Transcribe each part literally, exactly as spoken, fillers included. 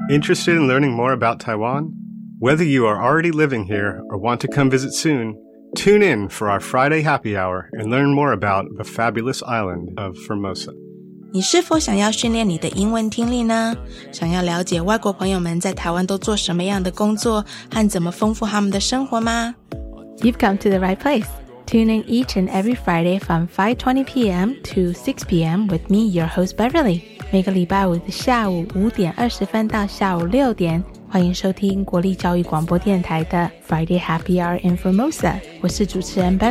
Interested in learning more about Taiwan? Whether you are already living here or want to come visit soon, tune in for our Friday happy hour and learn more about the fabulous island of Formosa. 你是否想要训练你的英文听力呢？想要了解外国朋友们在台湾都做什么样的工作和怎么丰富他们的生活吗？ You've come to the right place. Tune in each and every Friday from five twenty p.m. to six p.m. with me, your host Beverly. 每个礼拜五的下午五点二十分到下午六点，欢迎收聽國立教育廣播電台的 Friday Happy Hour in Formosa。我是主持人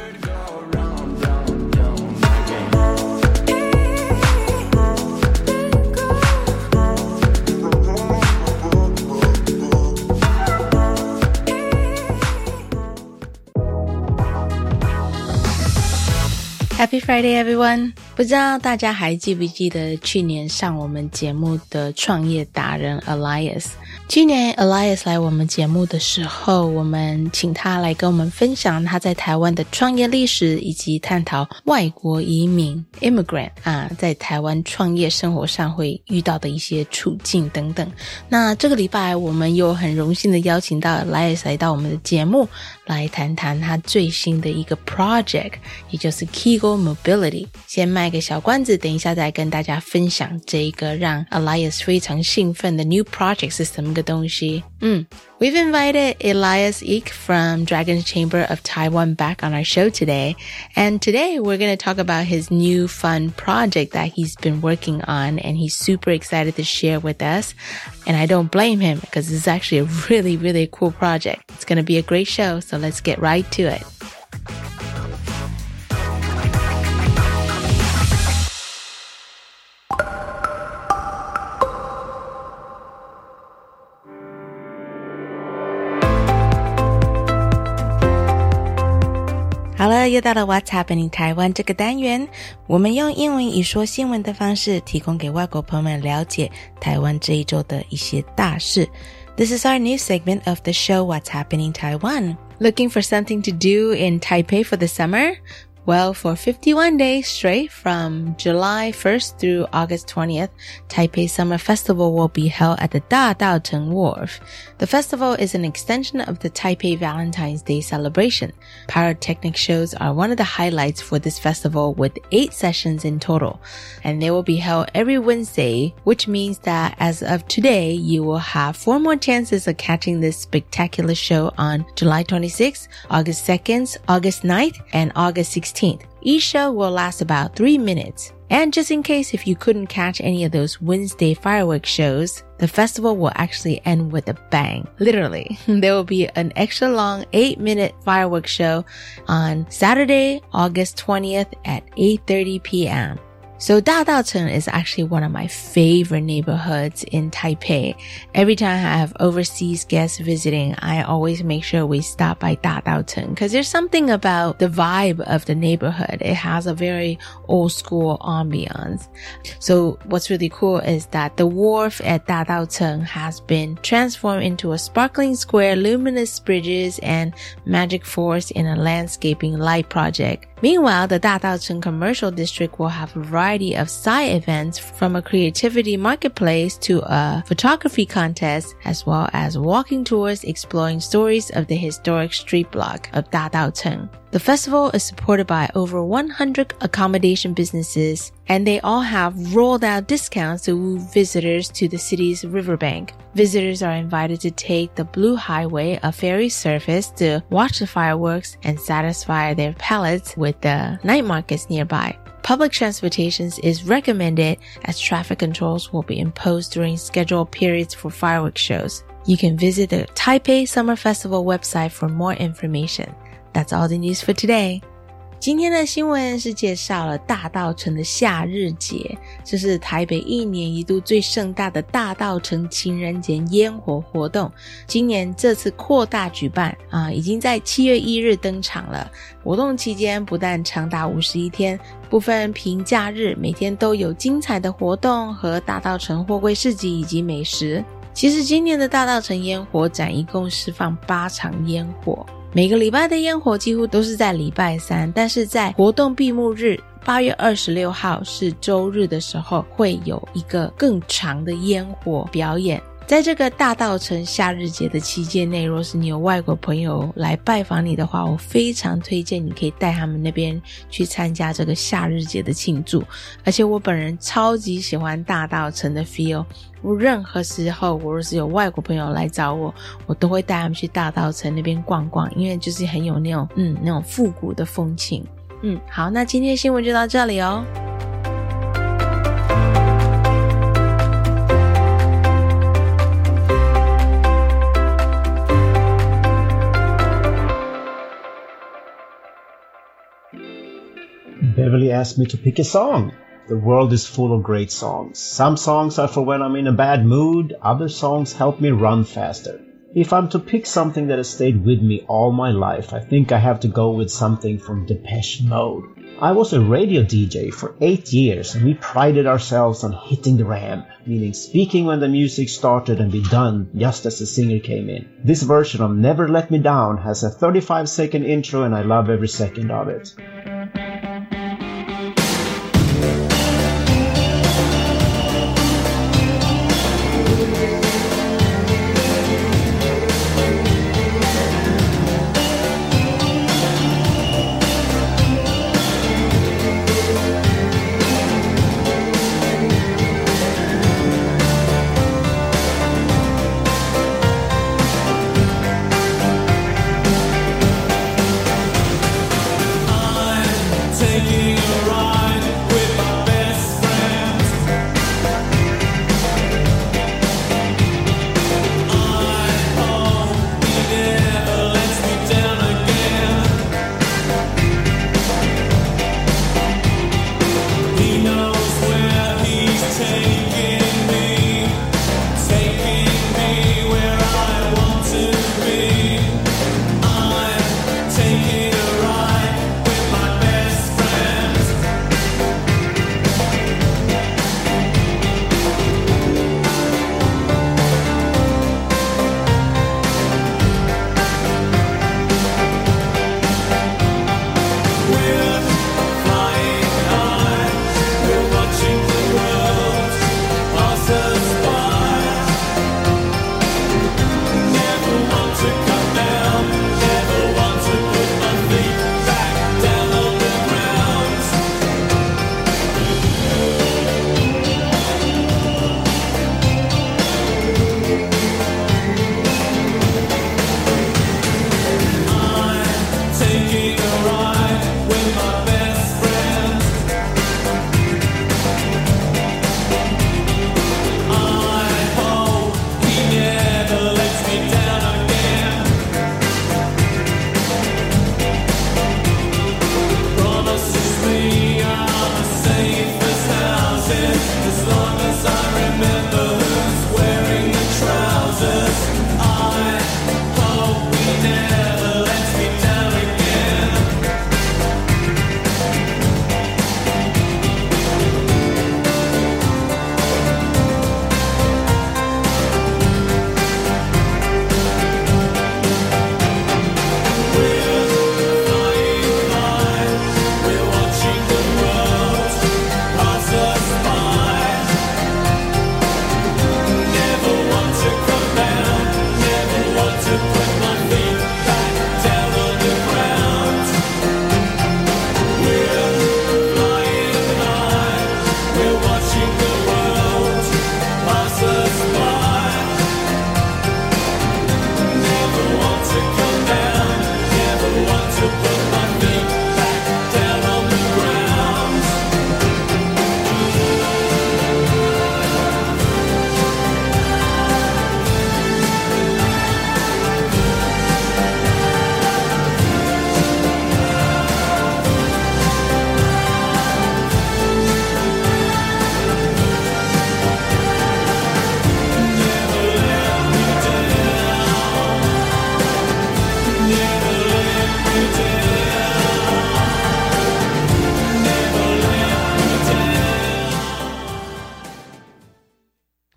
Beverly。Happy Friday, everyone! 不知道大家还记不记得去年上我们节目的創業達人 Elias。去年 Elias 來我們節目的時候，我們請他來跟我們分享他在台灣的創業歷史，以及探討外國移民 immigrant 啊，在台灣創業生活上會遇到的一些處境等等。那這個禮拜我們又很榮幸的邀請到 Elias 來到我們的節目，來談談他最新的一個 project， 也就是 Kigo Mobility。先賣個小關子，等一下再跟大家分享這一個讓 Elias 非常興奮的 new project 是什麼個東西。嗯 We've invited Elias Eek from Dragon's Chamber of Taiwan back on our show today. And today we're going to talk about his new fun project that he's been working on, and he's super excited to share with us. And I don't blame him because it's actually a really, really cool project. It's going to be a great show, so let's get right to it.好了，又到了 What's Happening 台湾这个单元，我们用英文以说新闻的方式提供给外国朋友们了解台湾这一周的一些大事。This is our new segment of the show What's Happening Taiwan. Looking for something to do in Taipei for the summer? Well, for fifty-one days straight from July first through August twentieth, Taipei Summer Festival will be held at the Dadaocheng Wharf. The festival is an extension of the Taipei Valentine's Day celebration. Pyrotechnic shows are one of the highlights for this festival with eight sessions in total. And they will be held every Wednesday, which means that as of today, you will have four more chances of catching this spectacular show on July twenty-sixth, August second, August ninth, and August sixteenth. Each show will last about three minutes. And just in case if you couldn't catch any of those Wednesday fireworks shows, the festival will actually end with a bang. Literally. There will be an extra long eight minute fireworks show on Saturday, August twentieth at eight thirty p.m. So Dadaocheng is actually one of my favorite neighborhoods in Taipei. Every time I have overseas guests visiting, I always make sure we stop by Dadaocheng because there's something about the vibe of the neighborhood. It has a very old school ambiance. So what's really cool is that the wharf at Dadaocheng has been transformed into a sparkling square, luminous bridges, and magic forest in a landscaping light project. Meanwhile, the Dadaocheng Commercial District will have a variety of side events from a creativity marketplace to a photography contest, as well as walking tours exploring stories of the historic street block of Dadaocheng. The festival is supported by over one hundred accommodation businesses, and they all have rolled out discounts to woo visitors to the city's riverbank. Visitors are invited to take the Blue Highway, a ferry service, to watch the fireworks and satisfy their palates with the night markets nearby. Public transportation is recommended as traffic controls will be imposed during scheduled periods for fireworks shows. You can visit the Taipei Summer Festival website for more information. That's all the news for today. 今天的新闻是介绍了大稻埕的夏日节，这是台北一年一度最盛大的大稻埕情人节烟火活动。今年这次扩大举办啊，已经在七月一日登场了。活动期间不但长达五十一天，部分平假日每天都有精彩的活动和大稻埕货柜市集以及美食。其实今年的大稻埕烟火展一共释放八场烟火，每个礼拜的烟火几乎都是在礼拜三，但是在活动闭幕日八月二十六号是周日的时候，会有一个更长的烟火表演。 在这个大稻埕夏日节的期间内，若是你有外国朋友来拜访你的话，我非常推荐你可以带他们那边去参加这个夏日节的庆祝。而且我本人超级喜欢大稻埕的 feel， 我任何时候我若是有外国朋友来找我，我都会带他们去大稻埕那边逛逛，因为就是很有那种嗯那种复古的风情。嗯，好，那今天的新闻就到这里哦。 Beverly asked me to pick a song. The world is full of great songs. Some songs are for when I'm in a bad mood. Other songs help me run faster. If I'm to pick something that has stayed with me all my life, I think I have to go with something from Depeche Mode. I was a radio D J for eight years and we prided ourselves on hitting the ramp, meaning speaking when the music started and be done just as the singer came in. This version of Never Let Me Down has a thirty-five second intro and I love every second of it. I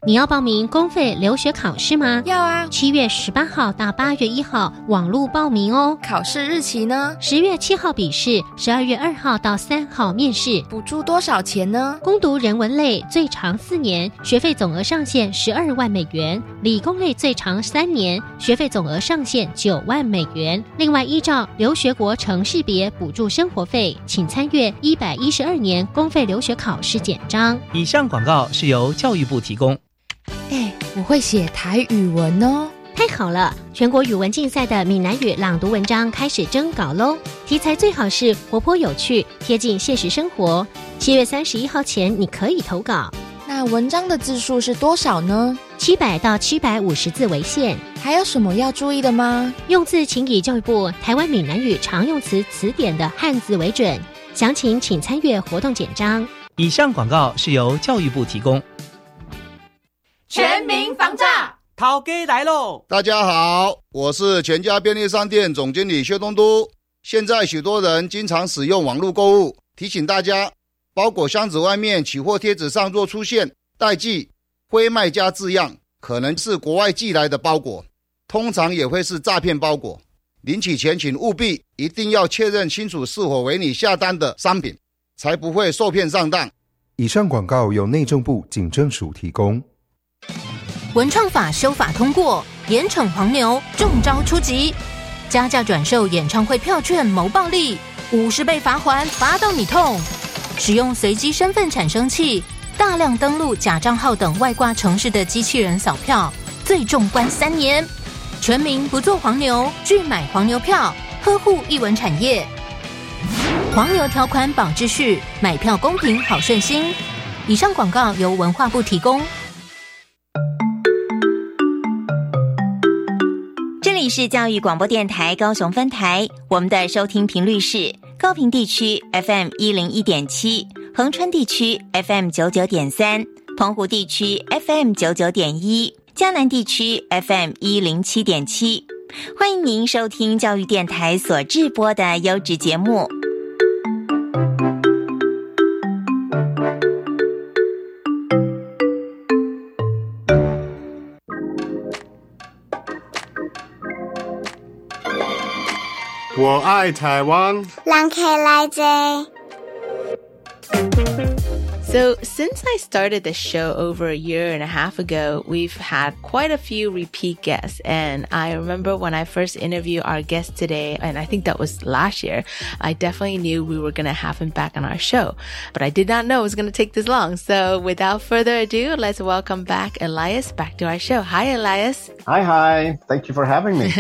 你要报名公费留学考试吗？ 要啊， 七月十八号到八月一号网络报名哦。 考试日期呢？ 十月七号笔试，十二月二号到三号面试。 补助多少钱呢？ 攻读人文类最长四年，学费总额上限十二万美元；理工类最长三年，学费总额上限九万美元。另外，依照留学国城市别补助生活费，请参阅一百一十二年公费留学考试简章。 以上广告是由教育部提供。 哎，我会写台语文哦。 太好了！全国语文竞赛的闽南语朗读文章开始征稿喽，题材最好是活泼有趣，贴近现实生活。七月三十一号前你可以投稿。 那文章的字数是多少呢？ 七百到七百五十字为限。 还有什么要注意的吗？ 用字请以教育部台湾闽南语常用词词典的汉字为准。详情请参阅活动简章。 以上广告是由教育部提供。 全民防诈， 涛哥来喽！ 大家好，我是全家便利商店总经理薛东都。现在许多人经常使用网络购物，提醒大家，包裹箱子外面取货贴纸上若出现代寄、非卖家字样，可能是国外寄来的包裹，通常也会是诈骗包裹。领取前请务必一定要确认清楚是否为你下单的商品，才不会受骗上当。 以上广告由内政部警政署提供。 文创法修法通过，严惩黄牛，重招出击。加价转售演唱会票券谋暴利，五十倍罚锾，罚到你痛。使用随机身份产生器，大量登录假账号等外挂程式的机器人扫票，最重关三年。全民不做黄牛，拒买黄牛票，呵护艺文产业。黄牛条款保秩序，买票公平好顺心。以上广告由文化部提供。 这里是教育广播电台高雄分台，我们的收听频率是高屏地区 F M 一零一点七， 恒春地区 F M 九九点三， 澎湖地区 F M 九九点一， 嘉南地区 F M 一零七点七。 欢迎您收听教育电台所制播的优质节目。 我爱台湾， 人客来坐。 So, since I started the show over a year and a half ago, we've had quite a few repeat guests. And I remember when I first interviewed our guest today, and I think that was last year, I definitely knew we were going to have him back on our show. But I did not know it was going to take this long. So, without further ado, let's welcome back Elias back to our show. Hi, Elias. Hi, hi. Thank you for having me.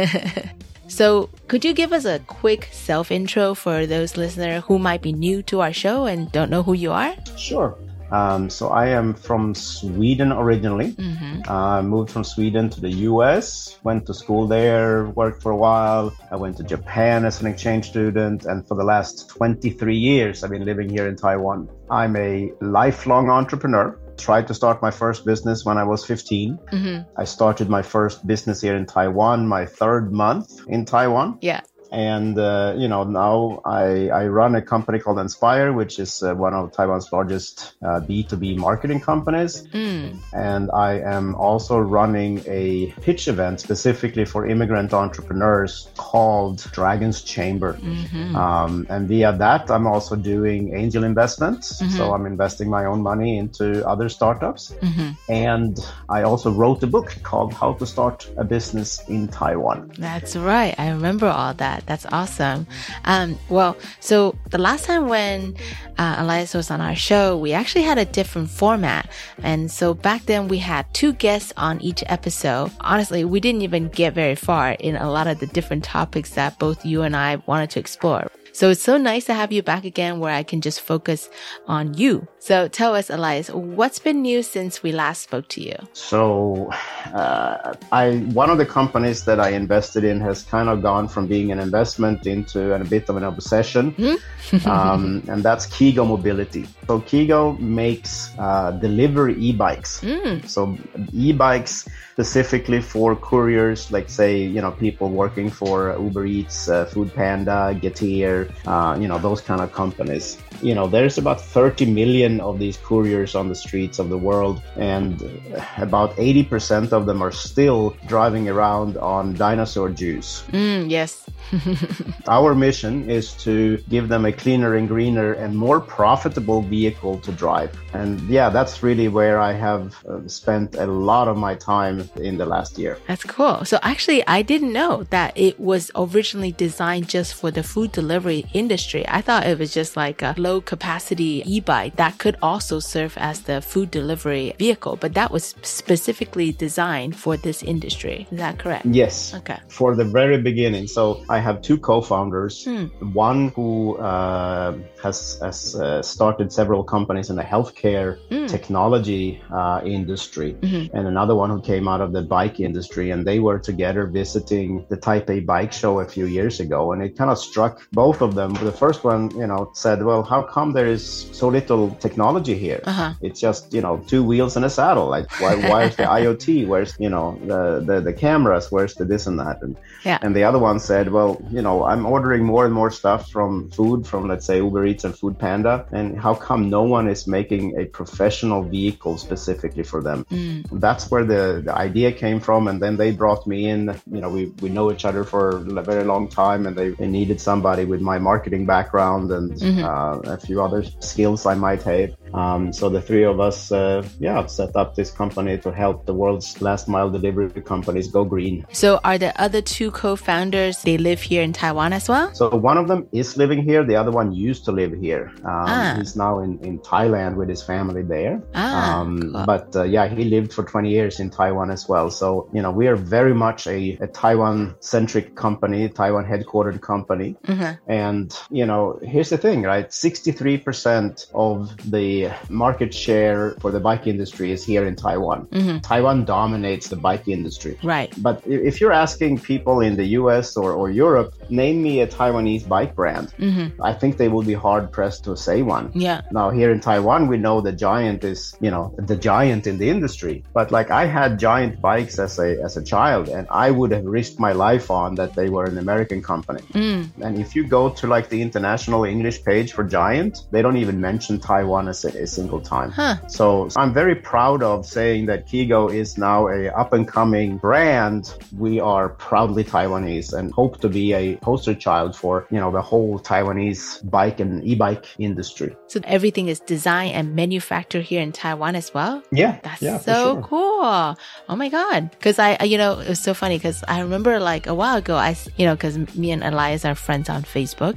So, could you give us a quick self-intro for those listeners who might be new to our show and don't know who you are? Sure. Um, so I am from Sweden originally. Mm-hmm. I uh, moved from Sweden to the U S, went to school there, worked for a while. I went to Japan as an exchange student. And for the last twenty-three years, I've been living here in Taiwan. I'm a lifelong entrepreneur. Tried to start my first business when I was fifteen. Mm-hmm. I started my first business here in Taiwan, my third month in Taiwan. Yeah. And, uh, you know, now I, I run a company called Inspire, which is uh, one of Taiwan's largest uh, B two B marketing companies. Mm. And I am also running a pitch event specifically for immigrant entrepreneurs called Dragon's Chamber. Mm-hmm. Um, and via that, I'm also doing angel investments. Mm-hmm. So I'm investing my own money into other startups. Mm-hmm. And I also wrote a book called How to Start a Business in Taiwan. That's right. I remember all that. That's awesome. Um, well, so the last time when uh, Elias was on our show, we actually had a different format. And so back then we had two guests on each episode. Honestly, we didn't even get very far in a lot of the different topics that both you and I wanted to explore. So it's so nice to have you back again where I can just focus on you. So tell us, Elias, what's been new since we last spoke to you? So uh, I one of the companies that I invested in has kind of gone from being an investment into a bit of an obsession. Mm-hmm. um, and that's Kigo Mobility. So Kigo makes uh, delivery e-bikes. Mm. So e-bikes specifically for couriers, like say, you know, people working for Uber Eats, uh, Food Panda, Getir, uh, you know, those kind of companies. You know, there's about thirty million million of these couriers on the streets of the world, and about eighty percent of them are still driving around on dinosaur juice. Mm, yes. Our mission is to give them a cleaner and greener and more profitable vehicle to drive. And yeah, that's really where I have uh, spent a lot of my time in the last year. That's cool. So actually, I didn't know that it was originally designed just for the food delivery industry. I thought it was just like a low capacity e-bike that could also serve as the food delivery vehicle, but that was specifically designed for this industry. Is that correct? Yes. Okay. For the very beginning. So I have two co-founders. Hmm. One who uh, has, has uh, started several companies in the healthcare mm. technology uh, industry, mm-hmm. and another one who came out of the bike industry, and they were together visiting the Taipei Bike Show a few years ago, and it kind of struck both of them. The first one, you know, said, well, how come there is so little technology here? Uh-huh. It's just, you know, two wheels and a saddle. Like, why, why is the IoT? Where's, you know, the, the, the cameras? Where's the this and that? And, yeah. and the other one said, well, you know, I'm ordering more and more stuff from food, from, let's say, Uber Eats and Food Panda. And how come no one is making a professional vehicle specifically for them? Mm. That's where the, the idea came from. And then they brought me in. You know, we, we know each other for a very long time, and they, they needed somebody with my marketing background and mm-hmm. uh, a few other skills I might have. Um, so the three of us, uh, yeah, set up this company to help the world's last mile delivery companies go green. So are the other two co-founders, they live here in Taiwan as well? So one of them is living here. The other one used to live here. Um, ah. He's now in, in Thailand with his family there. Ah, um, cool. But uh, yeah, he lived for twenty years in Taiwan as well. So, you know, we are very much a, a Taiwan-centric company, Taiwan headquartered company. Mm-hmm. And, you know, here's the thing, right? sixty-three percent of the market share for the bike industry is here in Taiwan. Mm-hmm. Taiwan dominates the bike industry. Right. But if you're asking people in the U S or, or Europe, name me a Taiwanese bike brand, mm-hmm. I think they will be hard pressed to say one. Yeah. Now here in Taiwan, we know the Giant is, you know, the giant in the industry. But like I had Giant bikes as a as a child, and I would have risked my life on that they were an American company. Mm. And if you go to like the international English page for Giant, they don't even mention Taiwan as a, a single time. Huh. So I'm very proud of saying that Kigo is now a up and coming brand. We are proudly Taiwanese and hope to be a poster child for, you know, the whole Taiwanese bike and e-bike industry. So everything is designed and manufactured here in Taiwan as well? Yeah. That's yeah, so sure. cool. Oh my God. Because I, you know, it was so funny because I remember like a while ago, I, you know, because me and Elias are friends on Facebook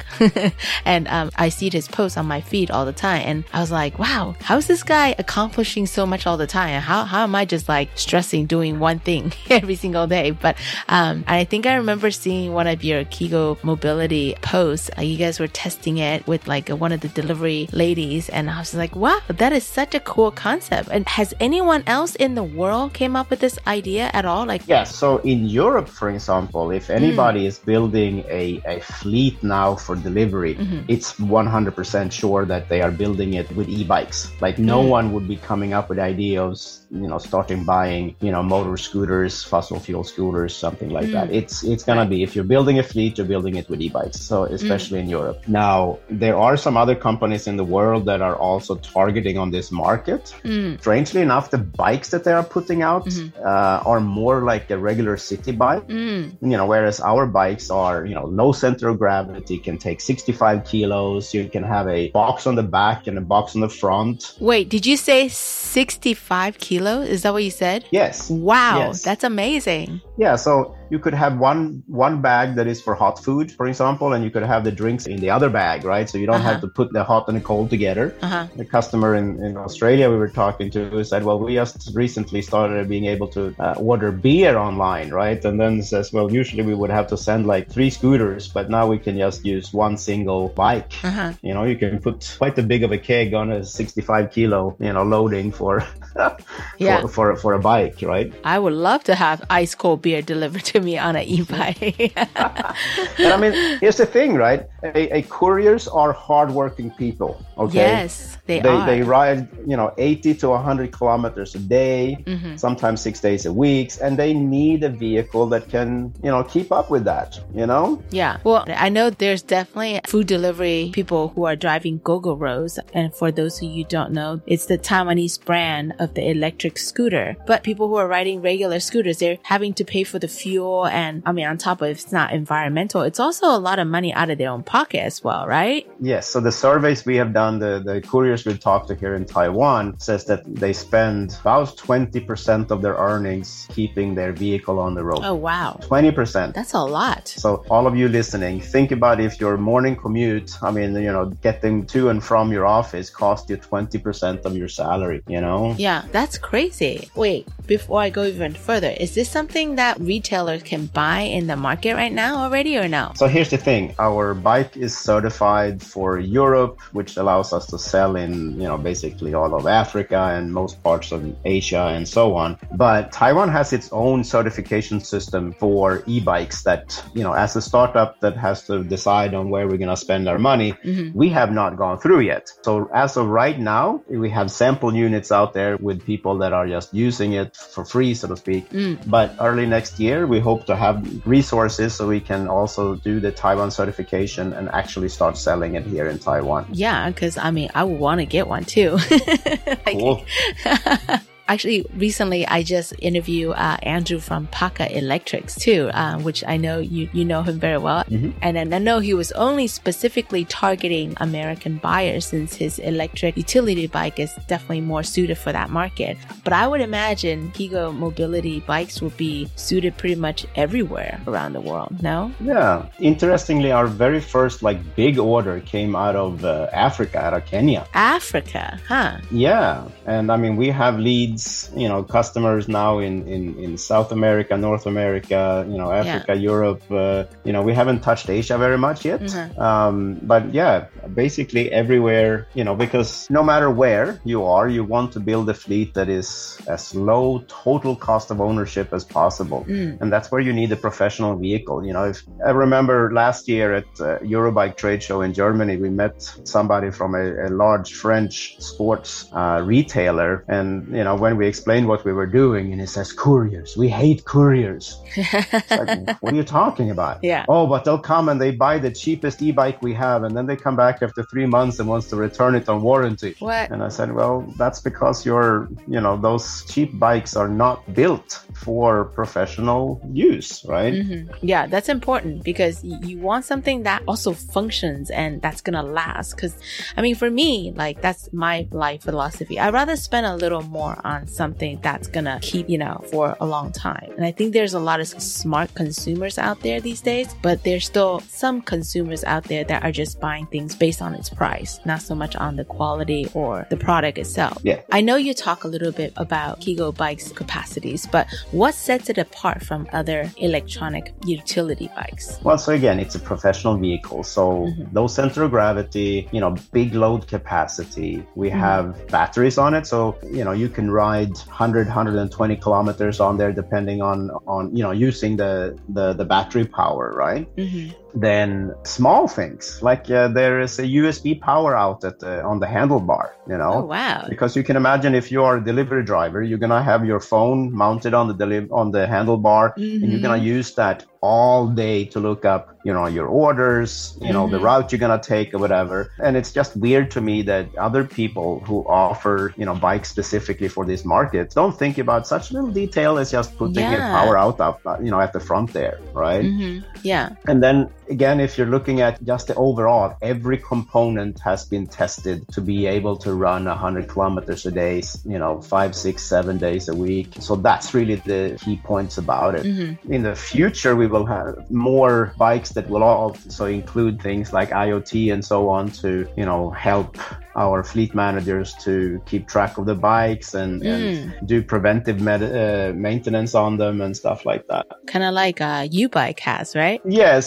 and um, I see his posts on my feed all the time. And I was like, wow, how is this guy accomplishing so much all the time? How, how am I just like stressing doing one thing every single day? But um, I think I remember seeing one of your Kigo mobility posts. Uh, you guys were testing it with like one of the delivery ladies. And I was like, wow, that is such a cool concept. And has anyone else in the world came up with this idea at all? Like, yeah. So in Europe, for example, if anybody mm. is building a, a fleet now for delivery, mm-hmm. it's one hundred percent sure that they are building it with e-bikes. Like no mm. one would be coming up with ideas, you know, starting buying, you know, motor scooters, fossil fuel scooters, something like mm. that. It's it's gonna be, if you're building a fleet, you're building it with e-bikes. So especially mm. in Europe. Now, there are some other companies in the world that are also targeting on this market. Mm. Strangely enough, the bikes that they are putting out mm-hmm. uh, are more like a regular city bike, mm. you know, whereas our bikes are, you know, low center of gravity, can take sixty-five kilos. You can have a box on the back and a box on the front. Wait, did you say sixty-five kilos? Is that what you said? Yes. Wow, yes. That's amazing. Yeah, so you could have one one bag that is for hot food, for example, and you could have the drinks in the other bag, right? So you don't uh-huh. have to put the hot and the cold together. Uh-huh. The customer in, in Australia we were talking to said, well, we just recently started being able to uh, order beer online, right? And then says, well, usually we would have to send like three scooters, but now we can just use one single bike. Uh-huh. You know, you can put quite a big of a keg on a sixty-five kilo, you know, loading for, yeah. for, for, for a bike, right? I would love to have ice cold beer delivered to me on an e-bike. And I mean, here's the thing, right? A, a couriers are hardworking people. Okay. Yes, they, they are. They ride, you know, eighty to one hundred kilometers a day, mm-hmm. sometimes six days a week, and they need a vehicle that can, you know, keep up with that, you know? Yeah. Well, I know there's definitely food delivery people who are driving Gogoro's. And for those of you who don't know, it's the Taiwanese brand of the electric scooter. But people who are riding regular scooters, they're having to pay for the fuel. And I mean, on top of it, it's not environmental, it's also a lot of money out of their own pocket as well, right? Yes. So the surveys we have done, the, the couriers we've talked to here in Taiwan says that they spend about twenty percent of their earnings keeping their vehicle on the road. Oh, wow. twenty percent. That's a lot. So all of you listening, think about if your morning commute, I mean, you know, getting to and from your office cost you twenty percent of your salary, you know? Yeah, that's crazy. Wait, before I go even further, is this something that retailers can buy in the market right now already or no? So here's the thing. Our bike is certified for Europe, which allows us to sell in, you know, basically all of Africa and most parts of Asia and so on. But Taiwan has its own certification system for e-bikes that, you know, as a startup that has to decide on where we're going to spend our money, mm-hmm. we have not gone through yet. So as of right now, we have sample units out there with people that are just using it for free, so to speak. Mm. But early next year, we hope to have resources so we can also do the Taiwan certification and actually start selling it here in Taiwan. Yeah, because I mean, I would want to get one too. Like, cool. Actually, recently I just interviewed uh, Andrew from Paka Electrics too, uh, which I know you you know him very well. Mm-hmm. And then I know he was only specifically targeting American buyers since his electric utility bike is definitely more suited for that market. But I would imagine Higo Mobility bikes will be suited pretty much everywhere around the world, no? Yeah. Interestingly, our very first like big order came out of uh, Africa, out of Kenya. Africa, huh? Yeah. And I mean, we have leads, you know, customers now in, in, in South America, North America, you know, Africa, yeah. Europe. Uh, you know, we haven't touched Asia very much yet. Mm-hmm. Um, but yeah, basically everywhere, you know, because no matter where you are, you want to build a fleet that is as low total cost of ownership as possible. Mm. And that's where you need a professional vehicle. You know, if I remember last year at uh, Eurobike trade show in Germany, we met somebody from a, a large French sports uh, retailer. And, you know, when we explained what we were doing, and he says, couriers, we hate couriers. It's like, what are you talking about? Yeah. Oh, but they'll come and they buy the cheapest e-bike we have, and then they come back after three months and wants to return it on warranty. What? And I said, well, that's because you're, you know, those cheap bikes are not built for professional use, right? Mm-hmm. Yeah, that's important because you want something that also functions and that's gonna last. Because, I mean, for me, like, that's my life philosophy. I'd rather spend a little more on something that's gonna keep, you know, for a long time. And I think there's a lot of smart consumers out there these days, but there's still some consumers out there that are just buying things based on its price, not so much on the quality or the product itself. Yeah. I know you talk a little bit about Higo bikes capacities, but what sets it apart from other electronic utility bikes? Well, so again, it's a professional vehicle. So mm-hmm. low center of gravity, you know, big load capacity. We mm-hmm. have batteries on it. So, you know, you can ride one hundred, one hundred twenty kilometers on there, depending on, on, you know, using the, the, the battery power, right? Mm-hmm. Then small things like uh, there is a U S B power outlet uh, on the handlebar, you know. Oh, wow. Because you can imagine if you are a delivery driver, you're going to have your phone mounted on the deli- on the handlebar mm-hmm. and you're going to use that all day to look up, you know, your orders, you know, mm-hmm. the route you're going to take or whatever. And it's just weird to me that other people who offer, you know, bikes specifically for this market don't think about such little detail as just putting yeah. a power out up, you know, at the front there, right? Mm-hmm. Yeah. And then again, if you're looking at just the overall, every component has been tested to be able to run one hundred kilometers a day, you know, five, six, seven days a week. So that's really the key points about it. Mm-hmm. In the future, we will have more bikes that will also include things like IoT and so on to, you know, help our fleet managers to keep track of the bikes and, mm. and do preventive med- uh, maintenance on them and stuff like that. Kind of like uh, U-Bike has, right? Yes. And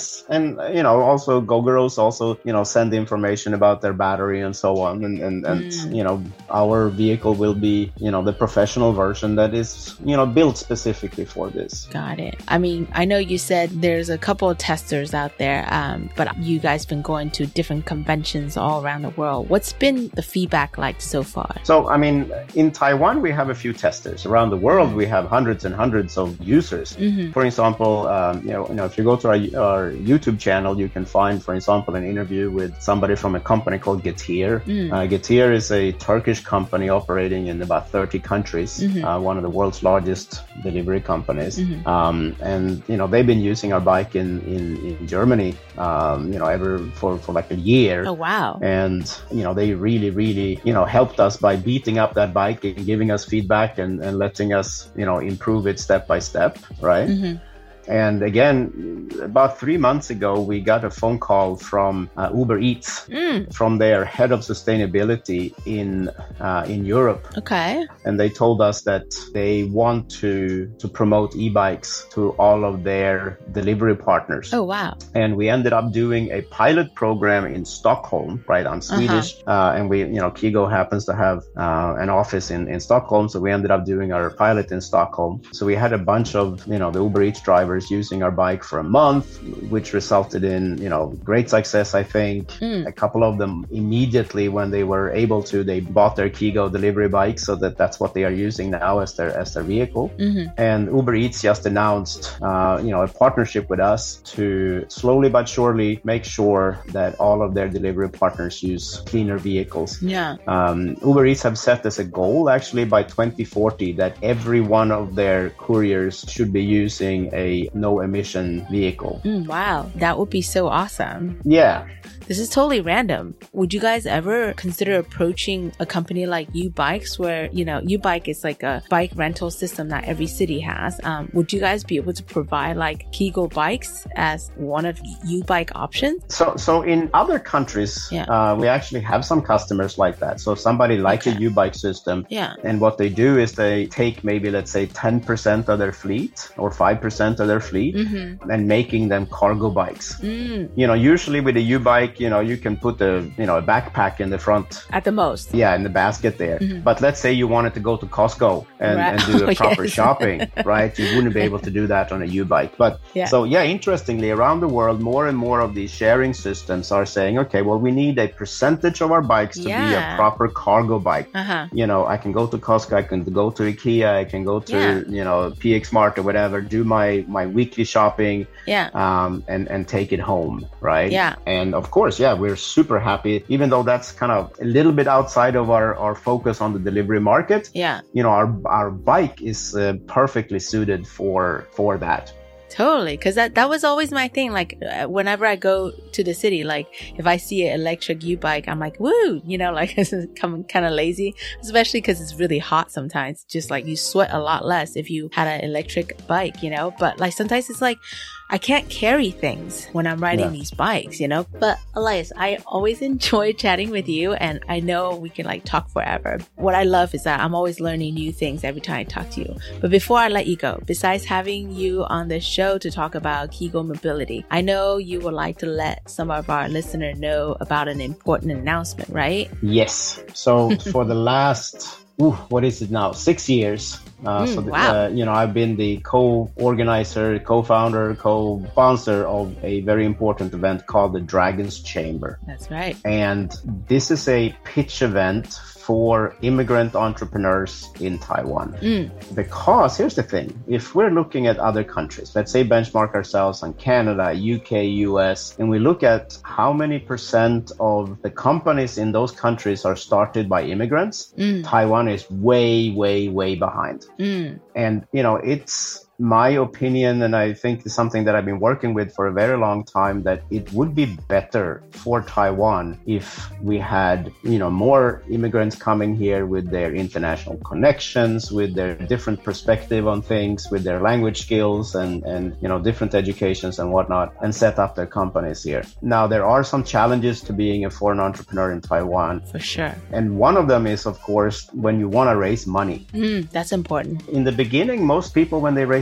mean, you know, also Gogoro's also, you know, send information about their battery and so on. And, and, and mm. you know, our vehicle will be, you know, the professional version that is, you know, built specifically for this. Got it. I mean, I know you said there's a couple of testers out there, um, but you guys been going to different conventions all around the world. What's been the feedback like so far? So, I mean, in Taiwan, we have a few testers. Around the world, we have hundreds and hundreds of users. Mm-hmm. For example, um, you know, you know, if you go to our, our YouTube channel, you can find, for example, an interview with somebody from a company called Getir. Mm. Uh, Getir is a Turkish company operating in about thirty countries, mm-hmm. uh, one of the world's largest delivery companies. Mm-hmm. Um, and, you know, they've been using our bike in, in, in Germany, um, you know, ever for, for like a year. Oh, wow. And, you know, they really, really, you know, helped us by beating up that bike and giving us feedback and, and letting us, you know, improve it step by step, right? Mm-hmm. And again, about three months ago, we got a phone call from uh, Uber Eats, mm. from their head of sustainability in uh, in Europe. Okay. And they told us that they want to to promote e-bikes to all of their delivery partners. Oh, wow. And we ended up doing a pilot program in Stockholm, right, on Swedish. Uh-huh. Uh, and we, you know, Kigo happens to have uh, an office in, in Stockholm. So we ended up doing our pilot in Stockholm. So we had a bunch of, you know, the Uber Eats drivers using our bike for a month, which resulted in, you know, great success, I think. Mm. A couple of them immediately when they were able to, they bought their Kigo delivery bike, so that that's what they are using now as their as their vehicle. Mm-hmm. And Uber Eats just announced, uh, you know, a partnership with us to slowly but surely make sure that all of their delivery partners use cleaner vehicles. Yeah. Um, Uber Eats have set as a goal, actually, by twenty forty, that every one of their couriers should be using a no emission vehicle. Mm, wow, that would be so awesome. Yeah. This is totally random. Would you guys ever consider approaching a company like U-Bikes, where, you know, U-Bike is like a bike rental system that every city has? Um, would you guys be able to provide like Kigo bikes as one of U-Bike options? So, so in other countries, yeah. uh, we actually have some customers like that. So somebody like okay. a U-Bike system. Yeah. And what they do is they take maybe, let's say, ten percent of their fleet or five percent of their fleet mm-hmm. and making them cargo bikes. Mm. You know, usually with a U-Bike, you know, you can put a, you know, a backpack in the front. At the most. Yeah, in the basket there. Mm-hmm. But let's say you wanted to go to Costco and, right. and do a proper yes. shopping, right? You wouldn't be able to do that on a U-Bike. But yeah. so, yeah, interestingly, around the world, more and more of these sharing systems are saying, okay, well, we need a percentage of our bikes to yeah. be a proper cargo bike. Uh-huh. You know, I can go to Costco, I can go to IKEA, I can go to, yeah. you know, P X Mart or whatever, do my, my weekly shopping yeah. um, and, and take it home, right? Yeah. And of course, yeah, we're super happy, even though that's kind of a little bit outside of our, our focus on the delivery market. Yeah. You know, our our bike is uh, perfectly suited for for that. Totally. Because that, that was always my thing. Like, uh, whenever I go to the city, like, if I see an electric U-Bike, I'm like, woo, you know, like, I'm kind of lazy, especially because it's really hot sometimes. Just like you sweat a lot less if you had an electric bike, you know, but like sometimes it's like, I can't carry things when I'm riding yeah. these bikes, you know. But Elias, I always enjoy chatting with you, and I know we can like talk forever. What I love is that I'm always learning new things every time I talk to you. But before I let you go, besides having you on the show to talk about Kigo Mobility, I know you would like to let some of our listeners know about an important announcement, right? Yes. So for the last... Ooh, what is it now? Six years. Uh, mm, so, the, wow. uh, you know, I've been the co-organizer, co-founder, co-sponsor of a very important event called the Dragon's Chamber. That's right. And this is a pitch event for immigrant entrepreneurs in Taiwan. Mm. Because here's the thing, if we're looking at other countries, let's say benchmark ourselves on Canada, U K, U S, and we look at how many percent of the companies in those countries are started by immigrants, mm. Taiwan is way, way, way behind. Mm. And, you know, it's my opinion, and I think it's something that I've been working with for a very long time, that it would be better for Taiwan if we had, you know, more immigrants coming here with their international connections, with their different perspective on things, with their language skills and, and, you know, different educations and whatnot, and set up their companies here. Now, there are some challenges to being a foreign entrepreneur in Taiwan. For sure. And one of them is, of course, when you want to raise money. Mm, that's important. In the beginning, most people, when they raise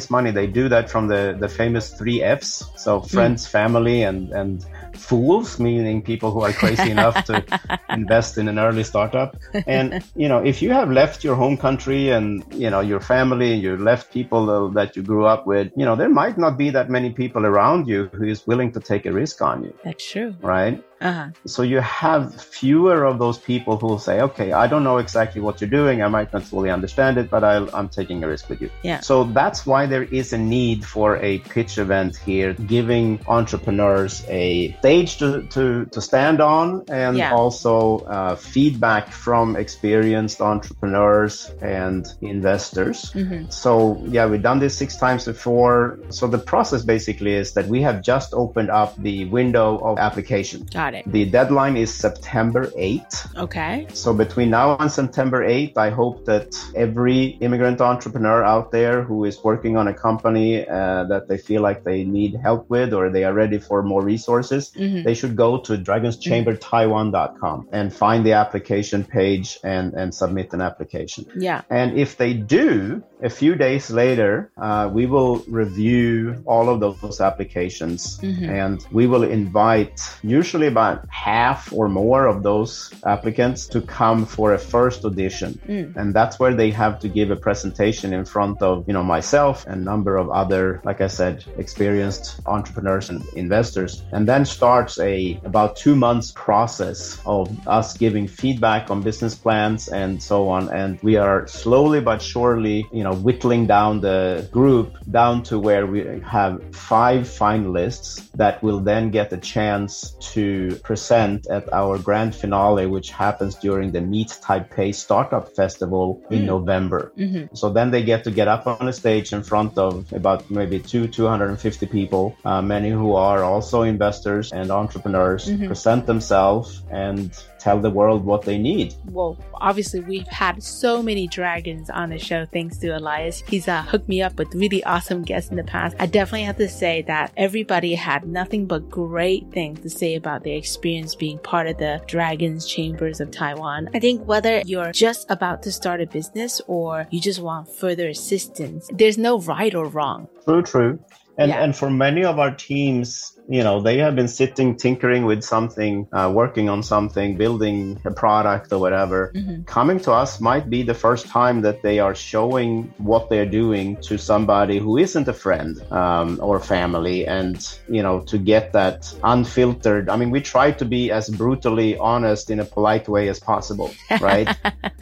raise money, they do that from the, the famous three F's. So friends, mm. family, and, and fools, meaning people who are crazy enough to invest in an early startup. And, you know, if you have left your home country and, you know, your family, you left people that you grew up with, you know, there might not be that many people around you who is willing to take a risk on you. That's true. Right? Uh-huh. So you have fewer of those people who will say, okay, I don't know exactly what you're doing. I might not fully understand it, but I'll, I'm taking a risk with you. Yeah. So that's why there is a need for a pitch event here, giving entrepreneurs a stage to, to, to stand on, and yeah. also uh, feedback from experienced entrepreneurs and investors. Mm-hmm. So yeah, we've done this six times before. So the process basically is that we have just opened up the window of application. Got it. The deadline is September eighth. Okay. So between now and September eighth, I hope that every immigrant entrepreneur out there who is working on a company uh, that they feel like they need help with, or they are ready for more resources, mm-hmm. they should go to dragons chamber taiwan dot com and find the application page and, and submit an application. Yeah. And if they do, a few days later, uh, we will review all of those applications, mm-hmm. and we will invite usually about half or more of those applicants to come for a first audition. Mm. And that's where they have to give a presentation in front of, you know, myself and a number of other, like I said, experienced entrepreneurs and investors. And then starts a about two months process of us giving feedback on business plans and so on. And we are slowly but surely, you know, whittling down the group down to where we have five finalists that will then get a chance to present at our grand finale, which happens during the Meet Taipei Startup Festival in mm. November. Mm-hmm. So then they get to get up on a stage in front of about maybe two, two hundred fifty people, uh, many who are also investors and entrepreneurs, mm-hmm. present themselves and tell the world what they need. Well, obviously we've had so many dragons on the show thanks to Elias. He's uh, hooked me up with really awesome guests in the past. I definitely have to say that everybody had nothing but great things to say about their experience being part of the Dragons Chambers of Taiwan. I think whether you're just about to start a business or you just want further assistance, there's no right or wrong. True, true. And yeah. and for many of our teams, you know, they have been sitting, tinkering with something, uh, working on something, building a product or whatever. Mm-hmm. Coming to us might be the first time that they are showing what they're doing to somebody who isn't a friend um, or family. And, you know, to get that unfiltered. I mean, we try to be as brutally honest in a polite way as possible, right?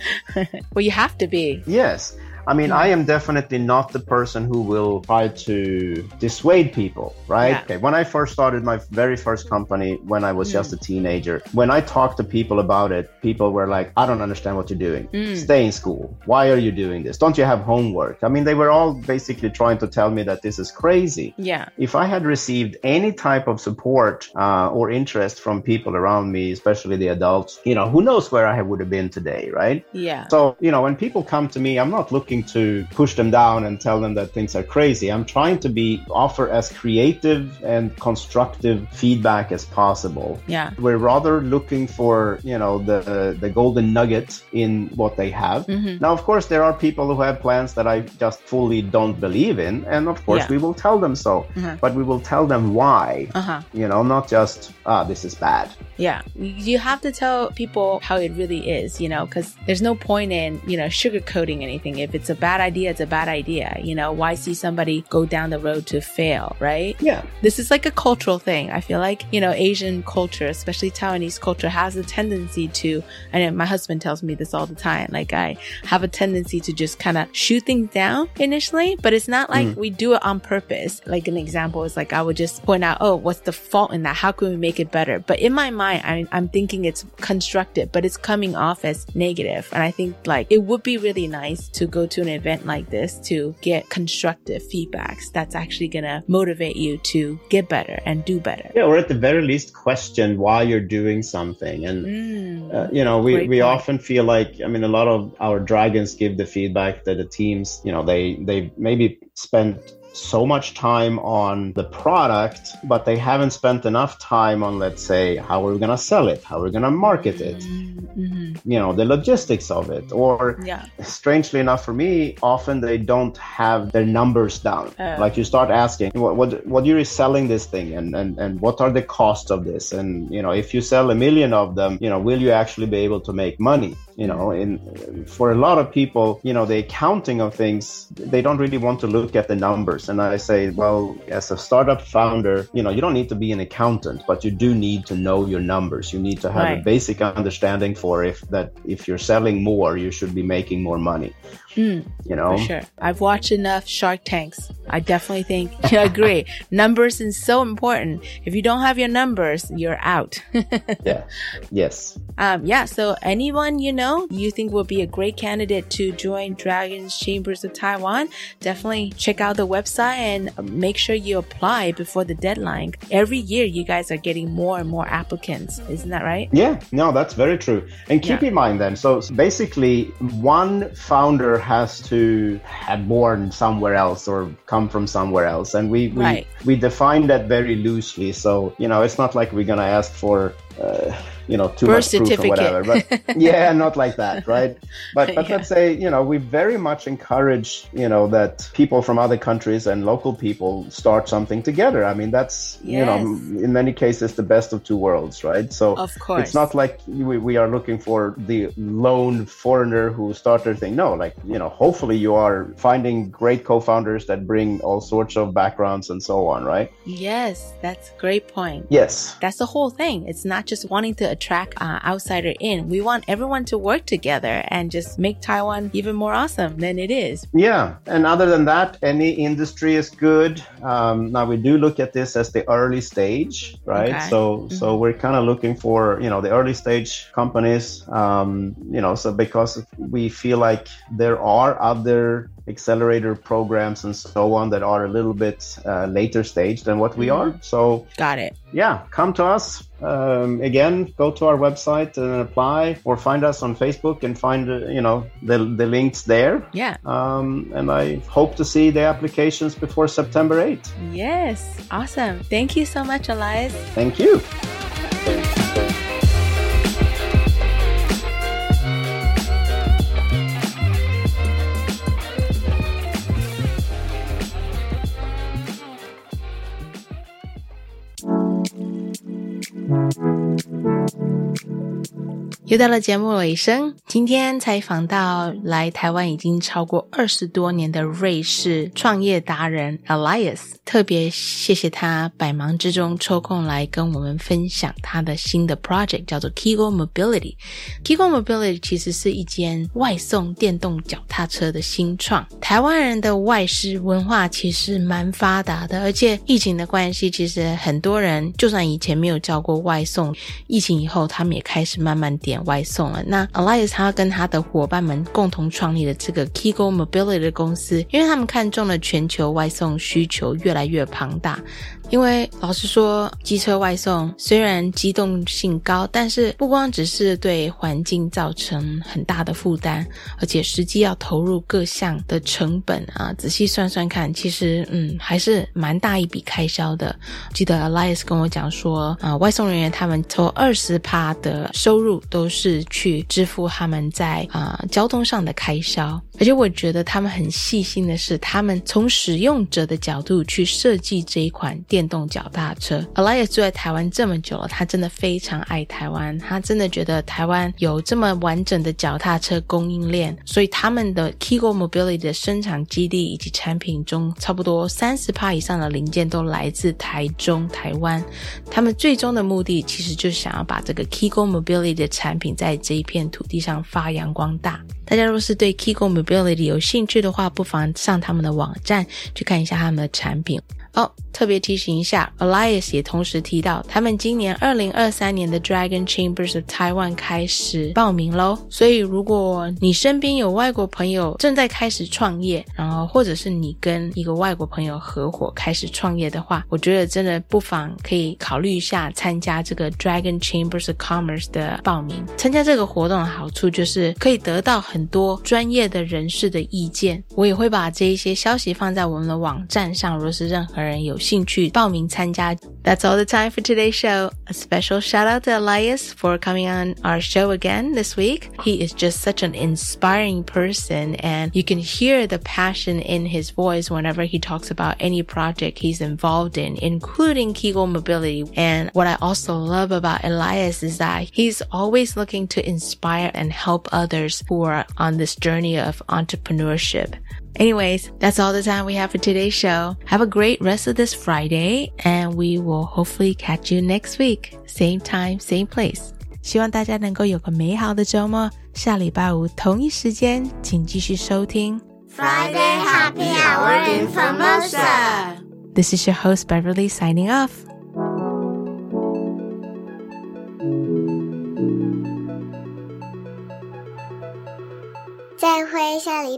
Well, you have to be. Yes. I mean, I am definitely not the person who will try to dissuade people, right? Yeah. Okay, when I first started my very first company, when I was mm. just a teenager, when I talked to people about it, people were like, I don't understand what you're doing. Mm. Stay in school. Why are you doing this? Don't you have homework? I mean, they were all basically trying to tell me that this is crazy. Yeah. If I had received any type of support uh, or interest from people around me, especially the adults, you know, who knows where I would have been today, right? Yeah. So, you know, when people come to me, I'm not looking to push them down and tell them that things are crazy. I'm trying to be offer as creative and constructive feedback as possible. Yeah. We're rather looking for, you know, the the golden nugget in what they have. Mm-hmm. Now, of course, there are people who have plans that I just fully don't believe in. And of course, yeah. we will tell them so. Mm-hmm. But we will tell them why. Uh-huh. You know, not just, ah, this is bad. Yeah. You have to tell people how it really is, you know, because there's no point in, you know, sugarcoating anything. If it's a bad idea, it's a bad idea. You know, why see somebody go down the road to fail, right? Yeah. This is like a cultural thing. I feel like, you know, Asian culture, especially Taiwanese culture, has a tendency to, and my husband tells me this all the time, like I have a tendency to just kind of shoot things down initially, but it's not like mm. we do it on purpose. Like an example is like I would just point out, oh, what's the fault in that? How can we make it better? But in my mind, I'm, I'm thinking it's constructive, but it's coming off as negative. And I think like it would be really nice to go to an event like this to get constructive feedbacks that's actually going to motivate you to get better and do better. Yeah, or at the very least question why you're doing something. And, mm, uh, you know, we, we often feel like, I mean, a lot of our dragons give the feedback that the teams, you know, they, they maybe spend so much time on the product, but they haven't spent enough time on, let's say, how we're going to sell it, how we're going to market it, mm-hmm. you know, the logistics of it. Or yeah. strangely enough for me, often they don't have their numbers down. Uh, like you start asking, what, what, what you're selling this thing and, and, and what are the costs of this? And, you know, if you sell a million of them, you know, will you actually be able to make money? You know, in for a lot of people, you know, the accounting of things, they don't really want to look at the numbers. And I say, well, as a startup founder, you know, you don't need to be an accountant, but you do need to know your numbers. You need to have right. a basic understanding for if that if you're selling more, you should be making more money. Mm, you know, for sure. I've watched enough Shark Tanks. I definitely think you agree. Numbers is so important. If you don't have your numbers, you're out. yeah. Yes. Um, yeah. So anyone, you know, you think will be a great candidate to join Dragons Chambers of Taiwan, definitely check out the website and make sure you apply before the deadline. Every year, you guys are getting more and more applicants. Isn't that right? Yeah. No, that's very true. And keep yeah. in mind then, so basically one founder has to have born somewhere else or come from somewhere else. And we, we, right. we define that very loosely. So, you know, it's not like we're going to ask for, uh, you know, too Birth much proof or whatever. But yeah, not like that, right? But but yeah. let's say, you know, we very much encourage, you know, that people from other countries and local people start something together. I mean, that's, yes. you know, in many cases, the best of two worlds, right? So of course. It's not like we, we are looking for the lone foreigner who started their thing. No, like, you know, hopefully you are finding great co-founders that bring all sorts of backgrounds and so on, right? Yes, that's a great point. Yes. That's the whole thing. It's not just wanting to attract uh, outsider in. We want everyone to work together and just make Taiwan even more awesome than it is. Yeah. And other than that, any industry is good. Um, now we do look at this as the early stage, right? Okay. So, mm-hmm. so we're kind of looking for, you know, the early stage companies, um, you know, so because we feel like there are other accelerator programs and so on that are a little bit uh, later stage than what we mm-hmm. are. So got it. Yeah, come to us. Um, again, go to our website and apply, or find us on Facebook and find, uh, you know, the the links there. Yeah. Um, and I hope to see the applications before September eighth. Yes. Awesome. Thank you so much, Elias. Thank you. 又到了节目尾声，今天采访到来台湾已经超过二十多年的瑞士创业达人 Elias， 特别谢谢他百忙之中抽空来跟我们分享他的新的 project， 叫做 Kigo Mobility。Kigo Mobility 其实是一间外送电动脚踏车的新创。台湾人的外食文化其实蛮发达的，而且疫情的关系，其实很多人就算以前没有叫过外送，疫情以后他们也开始慢慢点外送了。那 Elias 他跟他的伙伴们共同创立了这个 Kigo Mobility 的公司，因为他们看中了全球外送需求越来越庞大。因为老实说，机车外送虽然机动性高，但是不光只是对环境造成很大的负担，而且实际要投入各项的成本啊，仔细算算看，其实嗯还是蛮大一笔开销的。记得 Elias 跟我讲说，啊，外送人员他们抽 百分之二十 的收入都是去支付他们在啊交通上的开销。而且我觉得他们很细心的是，他们从使用者的角度去设计这一款电动脚踏车。 Elias 住在台湾这么久了，他真的非常爱台湾，他真的觉得台湾有这么完整的脚踏车供应链，所以他们的 Kigo Mobility 的生产基地以及产品中差不多 百分之三十 以上的零件都来自台中台湾。他们最终的目的其实就是想要把这个 Kigo Mobility 的产品在这一片土地上发扬光大。大家若是对 Kigo Mobility 有兴趣的话，不妨上他们的网站去看一下他们的产品。 哦，特别提醒一下 Elias 也同时提到他们今年二零二三年的 Dragon Chambers of Taiwan 开始报名咯，所以如果你身边有外国朋友正在开始创业，然后或者是你跟一个外国朋友合伙开始创业的话，我觉得真的不妨可以考虑一下参加这个 Dragon Chambers of Commerce 的报名。参加这个活动的好处就是可以得到很多专业的人士的意见，我也会把这一些消息放在我们的网站上，如果是任何人有兴趣报名参加。 That's all the time for today's show. A special shout out to Elias for coming on our show again this week. He is just such an inspiring person, and you can hear the passion in his voice whenever he talks about any project he's involved in, including Kegel Mobility. And what I also love about Elias is that he's always looking to inspire and help others who are on this journey of entrepreneurship. Anyways, that's all the time we have for today's show. Have a great rest of this Friday, and we will hopefully catch you next week. Same time, same place. 希望大家能够有个美好的周末。下礼拜五同一时间，请继续收听 Friday Happy Hour in Formosa. This is your host Beverly signing off. 再会，下礼